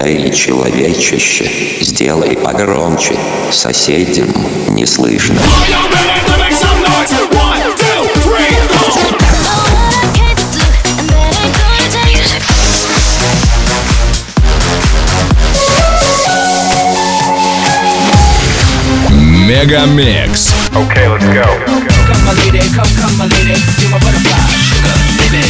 Эй, человечище, сделай погромче, соседям не слышно. Мегамикс. Okay, let's go. Come my lady, come my lady, you're my butterfly, sugar, baby.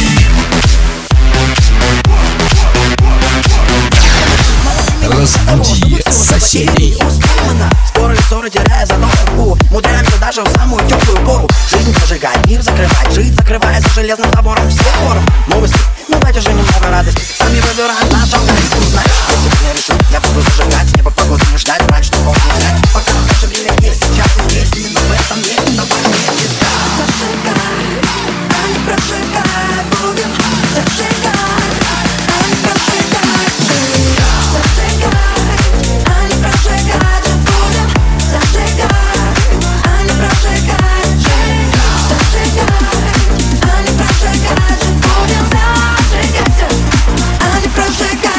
Разбуди соседей. Споры и ссоры, теряя задорку, мудряемся даже в самую теплую пору. Жизнь прожигает, мир закрывает, жить закрывая за железным забором всех форм. Новости, ну дайте же немного радости. Сами выбираем наш алгоритм, знаешь. Если не решил, я буду зажигать, небо погоду не ждать, брать, что мог не взять. Пока наше время есть, сейчас и здесь, именно в этом месте, давай вместе искать. Зажигай, а не прожигай, будем зажигать, а не прожигать, зажигай, а не прожигать, будем зажигать, а не прожигать, зажигай, а не прожигать, будем зажигать, а не прожигать.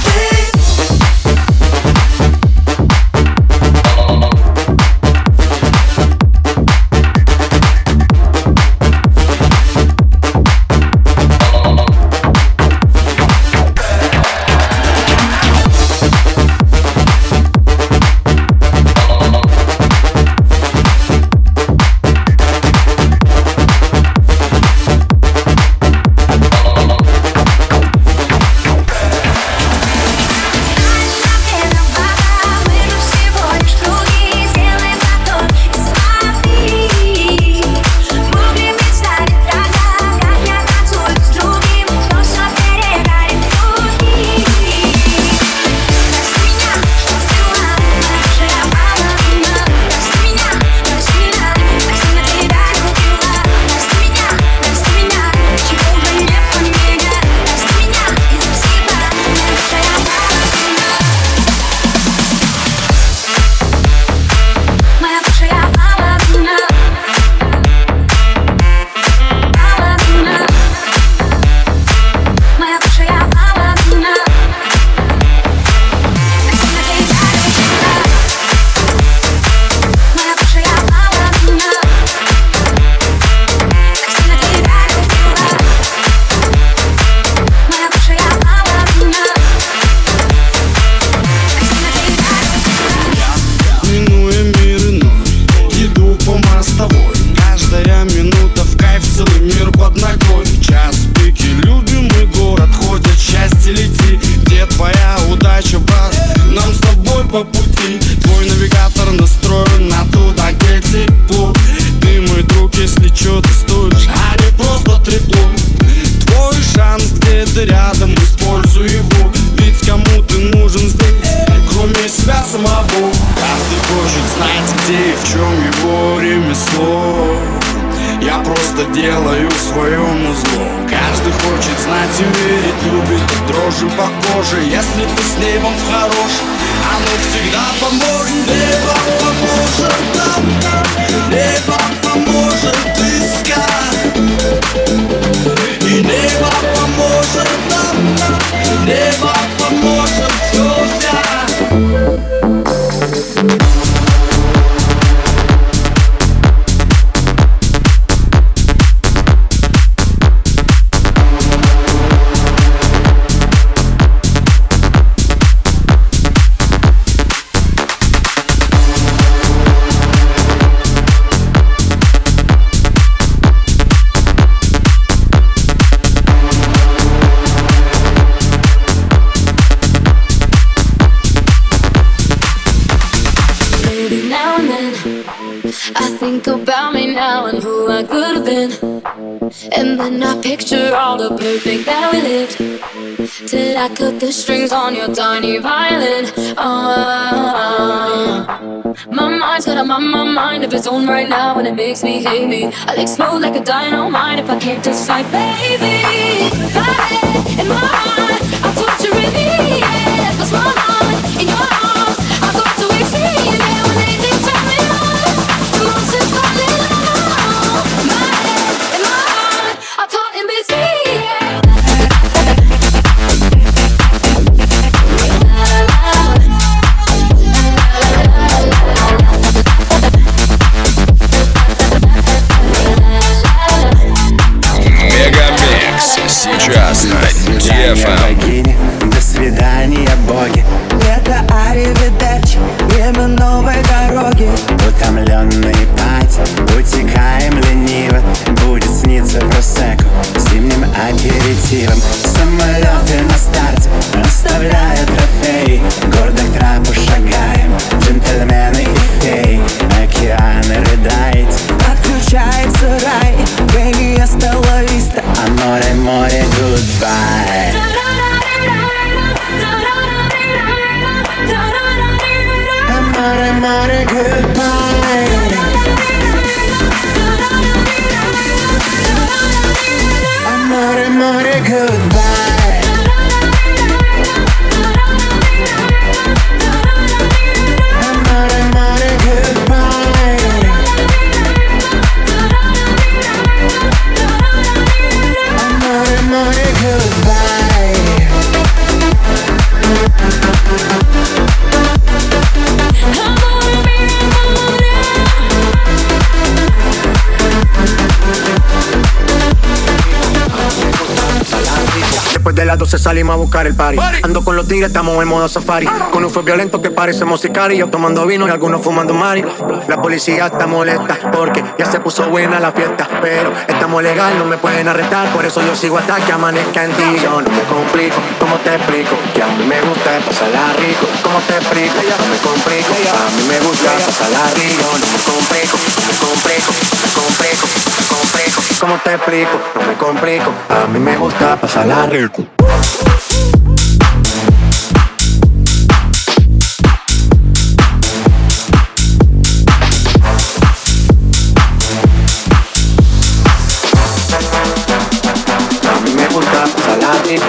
По пути твой навигатор настроен на туда, где тепло. Ты мой друг, если чё, ты стоишь, а не просто трепло. Твой шанс где-то рядом, используй его. Ведь кому ты нужен здесь, кроме себя самого. Каждый хочет знать, где и в чем его ремесло. Я просто делаю своему зло. Каждый хочет знать и верить, любит дрожи по коже. Если ты с небом хорош, оно всегда поможет. Небо поможет нам, небо поможет искать. И небо поможет нам, небо поможет все взять. Think about me now and who I could have been. And then I picture all the perfect that we lived, till I cut the strings on your tiny violin. My mind's got my mind of its own right now, and it makes me hate me. I like smooth like a dynamite if I can't decide, baby. My head in my heart, I'll torture in the air. 'Cause my mind in your arms, I've got to exceed. Yeah, when anything turns me on, the monster's calling on. My head in my heart, I'm caught in between. Yeah. свидания, боги. Лето, аривидерчи, время новой дороги. Утомленные пати, утекаем лениво. Будет сниться просекко зимним аперитивом. Самолеты на старте оставляют трофеи. Гордо к трапу шагаем, джентльмены и феи. Океаны рыдает, Отключается рай, baby, hasta la vista. Аморе, море, goodbye. Amore, more, goodbye. Amore, more, goodbye. Amore, more, goodbye. Amore, more, goodbye. Después de las 12 salimos a buscar el party. Ando con los tigres, estamos en modo safari. Con un fue violento que parecemos sicarios. Tomando vino y algunos fumando mari. La policía está molesta porque ya se puso buena la fiesta. Pero estamos legal, no me pueden arrestar. Por eso yo sigo hasta que amanezca en ti. Yo no me complico, ¿cómo te explico? Que a mí me gusta pasarla rico. ¿Cómo te explico? No me complico, a mí me gusta pasarla rico. No me complico, no me complico, no me complico, no me complico. ¿Cómo te explico? No me complico, a mí me gusta pasarla rico. A mí me gusta pasarla rico.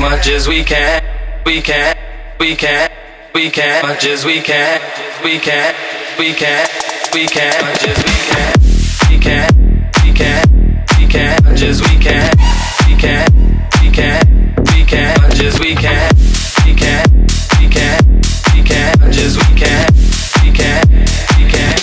much as we can, we can, we can, we can, much as we can, we can, we can, we can, much as we can, we can, we can, we can, much as we can, we can, we can, we can, much as we can, we can, we can, we can, much as we can, we can, we can.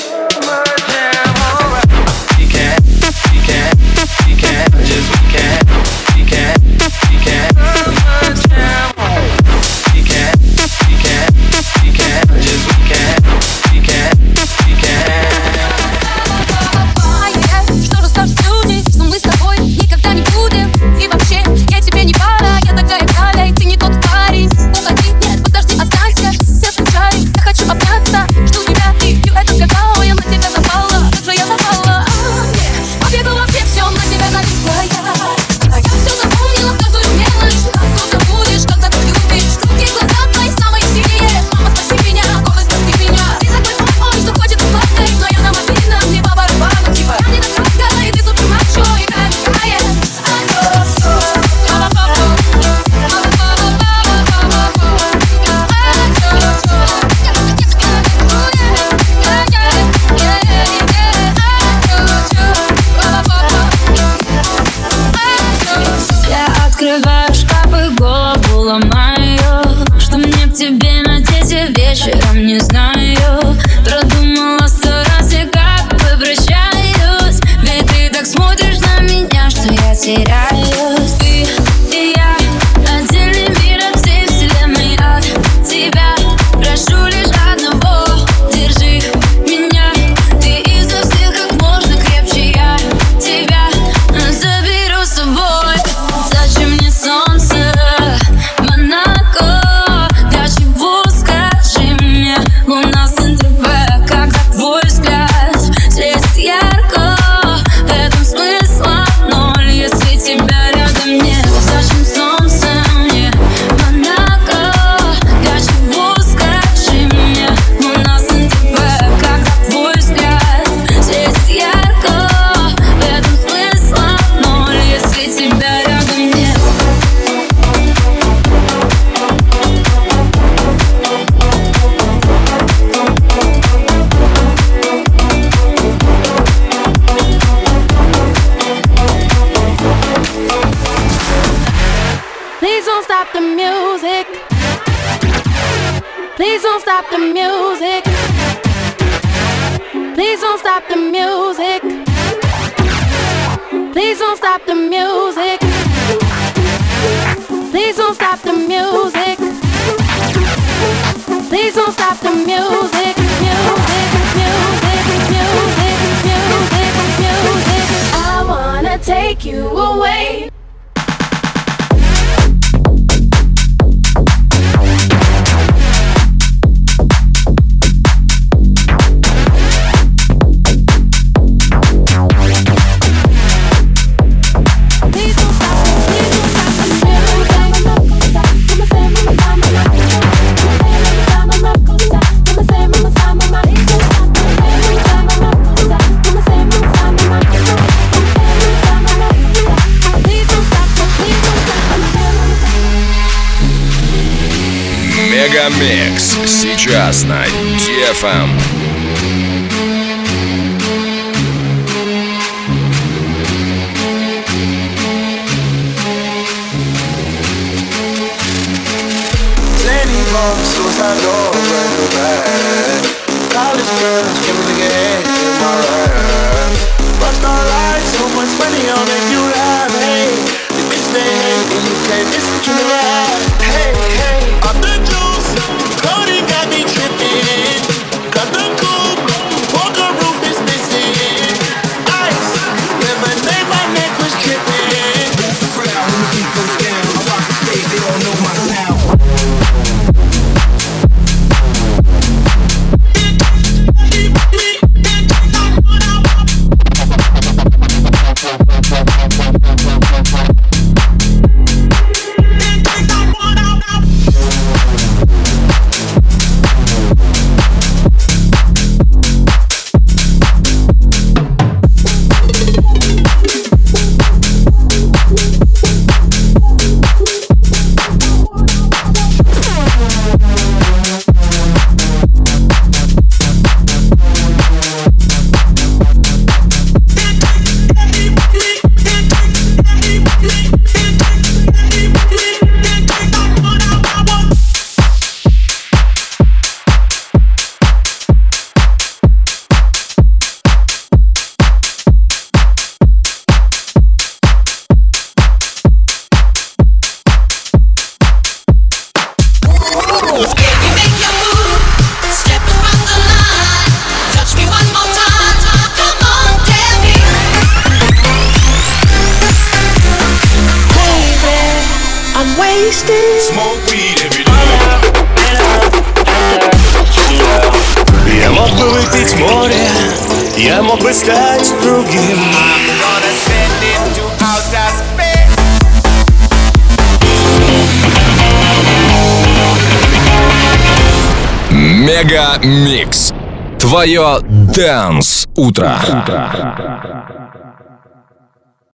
Что расскажут люди, что мы с тобой никогда не будем. И вообще, я тебе не пара, я такая Галя, и ты не тот парень. Уходи, нет, подожди, останься, я скучаю, я хочу обняться. Жду тебя, и пью этот какао, я на тебя запала, как же я запала. Побегу во все, все на тебя налипла я. А я все запомнила, каждую мелочь. Как ты забудешь, когда ты любишь. Руки, глаза твои самые синие. Мама, спаси меня, голос, спаси меня. Ты такой плохой, что хочет плакать, но я на мобильном, мне по барабану. Типа я не догадка, и ты супер мачо, играем в кайен. Я открываю шкаф и голову ломаю. Что мне к тебе надеть вечером, не знаю. Продумала 100 раз и как попрощаюсь. Ведь ты так смотришь на меня, что я теряюсь. Ты и я, отдельный мир от всей вселенной. От тебя прошу лишь одного: держи меня. Ты изо всех как можно крепче, я тебя заберу с собой. Зачем мне солнце, Монако? Для чего, скажи мне? Луна с НТВ, когда твой взгляд светит ярко. В этом смысла ноль, если тебя рядом нет. Зачем солнце мне, Монако? Для чего, скажи мне? Луна с НТВ, когда твой взгляд светит ярко. В этом смысла ноль, если тебя рядом нет. Please don't stop the music. Please don't stop the music. Please don't stop the music. Please don't stop the music. Please don't stop the music. Please don't stop the music. Music, music, music, music, music. I wanna take you away. Мегамикс сейчас на DFM. Ladybug, suicide door, brand new bag. College girls, give me the head in my rap. Bust all lights, so much money, I'll make you laugh. Hey, the bitch they hate, and you can't listen to the rap. Hey, hey, off the juice, Cody got me tripping. Cut the coupe, walker roof is missing. Ice, lemonade, my neck was tripping. Move the crowd when the beat goes down. I rock the stage, they all know my sound. Smoke weed every day. Я мог бы выпить море, я мог бы стать другим. Мега Микс. Твое Dance утро.